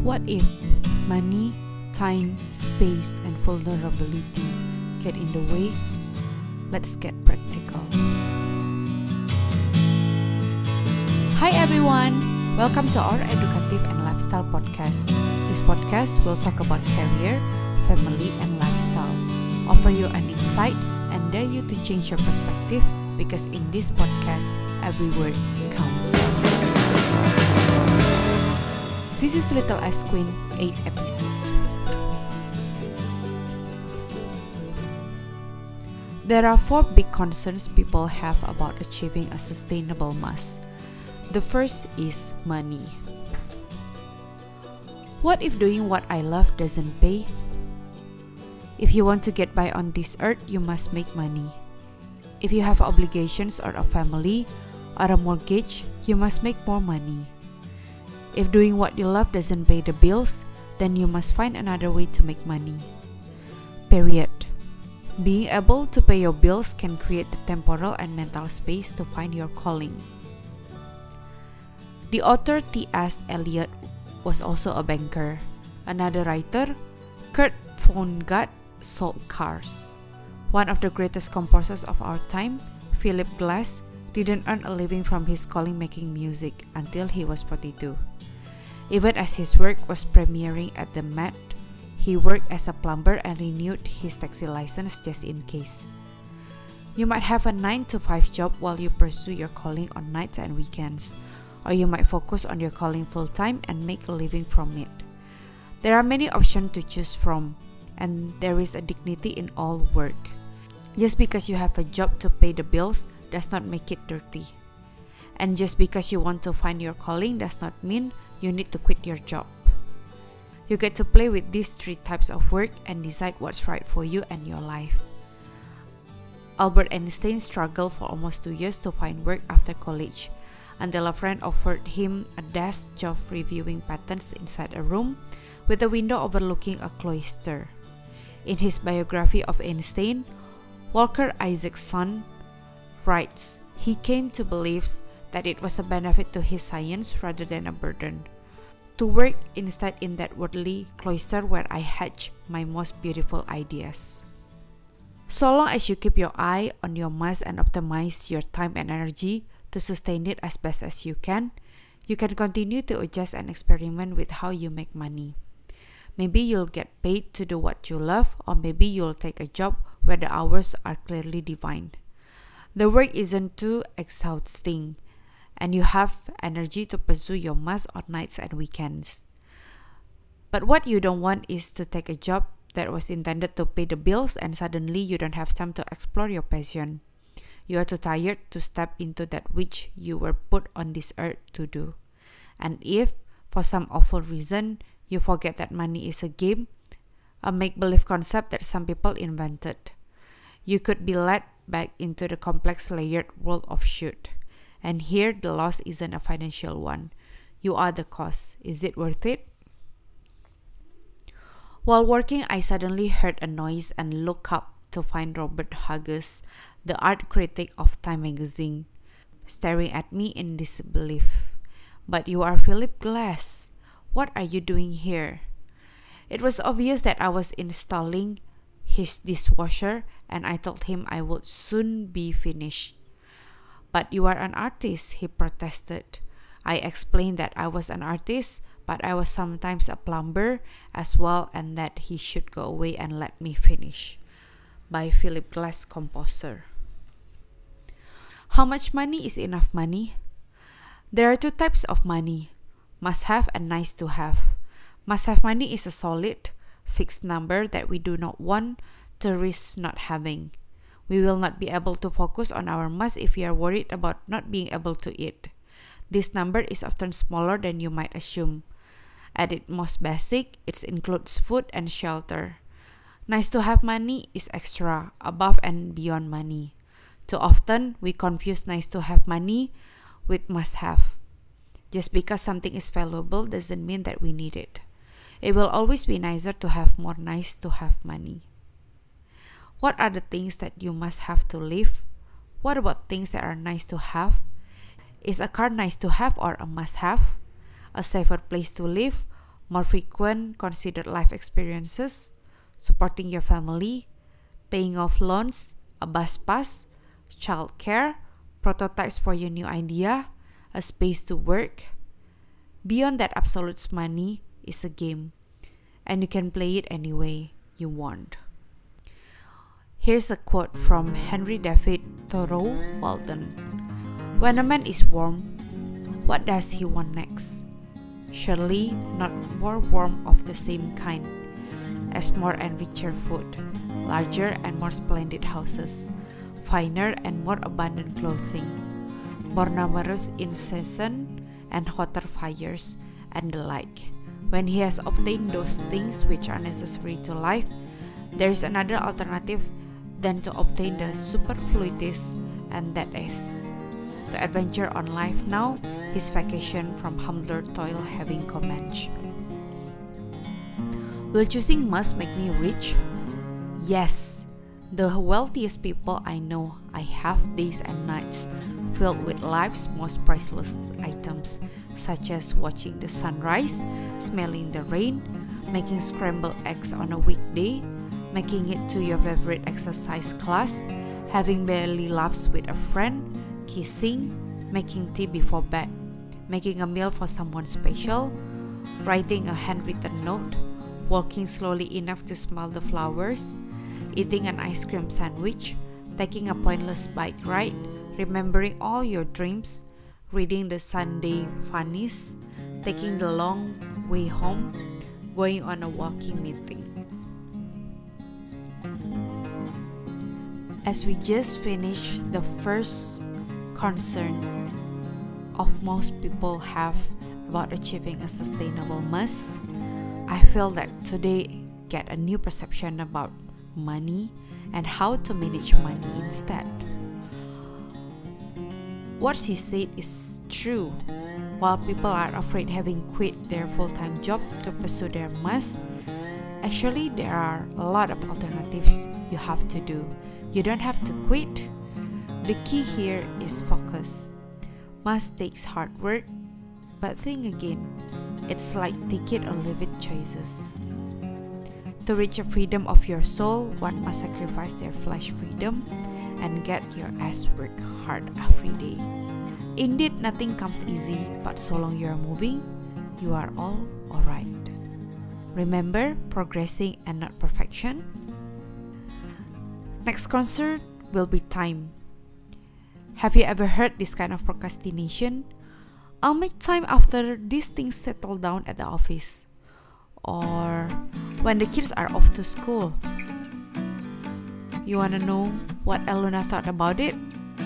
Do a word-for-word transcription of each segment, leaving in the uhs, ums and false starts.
What if money, time, space, and vulnerability get in the way? Let's get practical. Hi everyone! Welcome to our Educative and Lifestyle Podcast. This podcast will talk about career, family, and lifestyle. Offer you an insight and dare you to change your perspective because in this podcast, every word counts. This is Little S Queen eighth episode. There are four big concerns people have about achieving a sustainable mass. The first is money. What if doing what I love doesn't pay? If you want to get by on this earth, you must make money. If you have obligations or a family or a mortgage, you must make more money. If doing what you love doesn't pay the bills, then you must find another way to make money. Period. Being able to pay your bills can create the temporal and mental space to find your calling. The author T S Eliot was also a banker. Another writer, Kurt Vonnegut, sold cars. One of the greatest composers of our time, Philip Glass, didn't earn a living from his calling making music until he was forty-two. Even as his work was premiering at the Met, he worked as a plumber and renewed his taxi license just in case. You might have a nine to five job while you pursue your calling on nights and weekends, or you might focus on your calling full-time and make a living from it. There are many options to choose from, and there is a dignity in all work. Just because you have a job to pay the bills does not make it dirty. And just because you want to find your calling does not mean you need to quit your job. You get to play with these three types of work and decide what's right for you and your life. Albert Einstein struggled for almost two years to find work after college, until a friend offered him a desk job reviewing patents inside a room with a window overlooking a cloister. In his biography of Einstein, Walter Isaacson writes, he came to believe that it was a benefit to his science rather than a burden. To work instead in that worldly cloister where I hatch my most beautiful ideas. So long as you keep your eye on your mass and optimize your time and energy to sustain it as best as you can, you can continue to adjust and experiment with how you make money. Maybe you'll get paid to do what you love, or maybe you'll take a job where the hours are clearly defined. The work isn't too exhausting, and you have energy to pursue your mass on nights and weekends. But what you don't want is to take a job that was intended to pay the bills and suddenly you don't have time to explore your passion. You are too tired to step into that which you were put on this earth to do. And if, for some awful reason, you forget that money is a game, a make-believe concept that some people invented, you could be led back into the complex layered world of should. And here, the loss isn't a financial one. You are the cause. Is it worth it? While working, I suddenly heard a noise and looked up to find Robert Huggins, the art critic of Time magazine, staring at me in disbelief. But you are Philip Glass. What are you doing here? It was obvious that I was installing his dishwasher, and I told him I would soon be finished. But you are an artist, he protested. I explained that I was an artist, but I was sometimes a plumber as well, and that he should go away and let me finish. By Philip Glass, composer. How much money is enough money? There are two types of money, must have and nice to have. Must have money is a solid, fixed number that we do not want to risk not having. We will not be able to focus on our must if we are worried about not being able to eat. This number is often smaller than you might assume. At its most basic, it includes food and shelter. Nice to have money is extra, above and beyond money. Too often, we confuse nice to have money with must have. Just because something is valuable doesn't mean that we need it. It will always be nicer to have more nice to have money. What are the things that you must have to live? What about things that are nice to have? Is a car nice to have or a must have? A safer place to live more frequent considered life experiences, supporting your family, paying off loans, a bus pass, childcare, prototypes for your new idea, a space to work. Beyond that, absolute money is a game, and you can play it any way you want. Here's a quote from Henry David Thoreau Walton. When a man is warm, what does he want next? Surely not more warmth of the same kind as more and richer food, larger and more splendid houses, finer and more abundant clothing, more numerous in season and hotter fires, and the like. When he has obtained those things which are necessary to life, there is another alternative than to obtain the superfluities, and that is to adventure on life now, his vacation from humbler toil having commenced. Will choosing must make me rich? Yes, the wealthiest people I know, I have days and nights filled with life's most priceless items, such as watching the sunrise, smelling the rain, making scrambled eggs on a weekday, making it to your favorite exercise class, having belly laughs with a friend, kissing, making tea before bed, making a meal for someone special, writing a handwritten note, walking slowly enough to smell the flowers, eating an ice cream sandwich, taking a pointless bike ride, remembering all your dreams, reading the Sunday funnies, taking the long way home, going on a walking meeting. As we just finished the first concern of most people have about achieving a sustainable must, I feel that today get a new perception about money and how to manage money instead. What she said is true. While people are afraid having quit their full-time job to pursue their must, actually there are a lot of alternatives you have to do. You don't have to quit. The key here is focus. Must takes hard work, but think again. It's like take it or leave it choices. To reach the freedom of your soul, one must sacrifice their flesh freedom and get your ass work hard every day. Indeed, nothing comes easy, but so long you are moving, you are all alright. Remember, progressing and not perfection. Next concern will be time. Have you ever heard this kind of procrastination? I'll make time after these things settle down at the office, or when the kids are off to school. You wanna know what Eluna thought about it?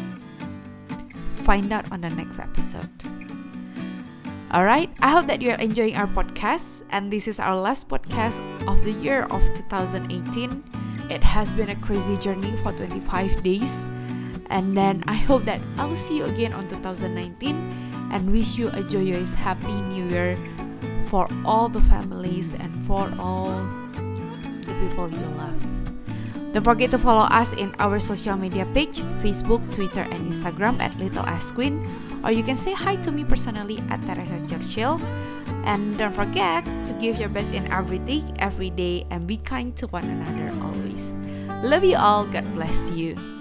Find out on the next episode. Alright, I hope that you are enjoying our podcast, and this is our last podcast of the year of two thousand eighteen. It has been a crazy journey for twenty-five days, and then I hope that I'll see you again on two thousand nineteen, and wish you a joyous happy new year for all the families and for all the people you love. Don't forget to follow us in our social media page, Facebook, Twitter, and Instagram at Little Ass Queen, or you can say hi to me personally at Teresa Churchill. And don't forget to give your best in everything, every day, and be kind to one another always. Love you all. God bless you.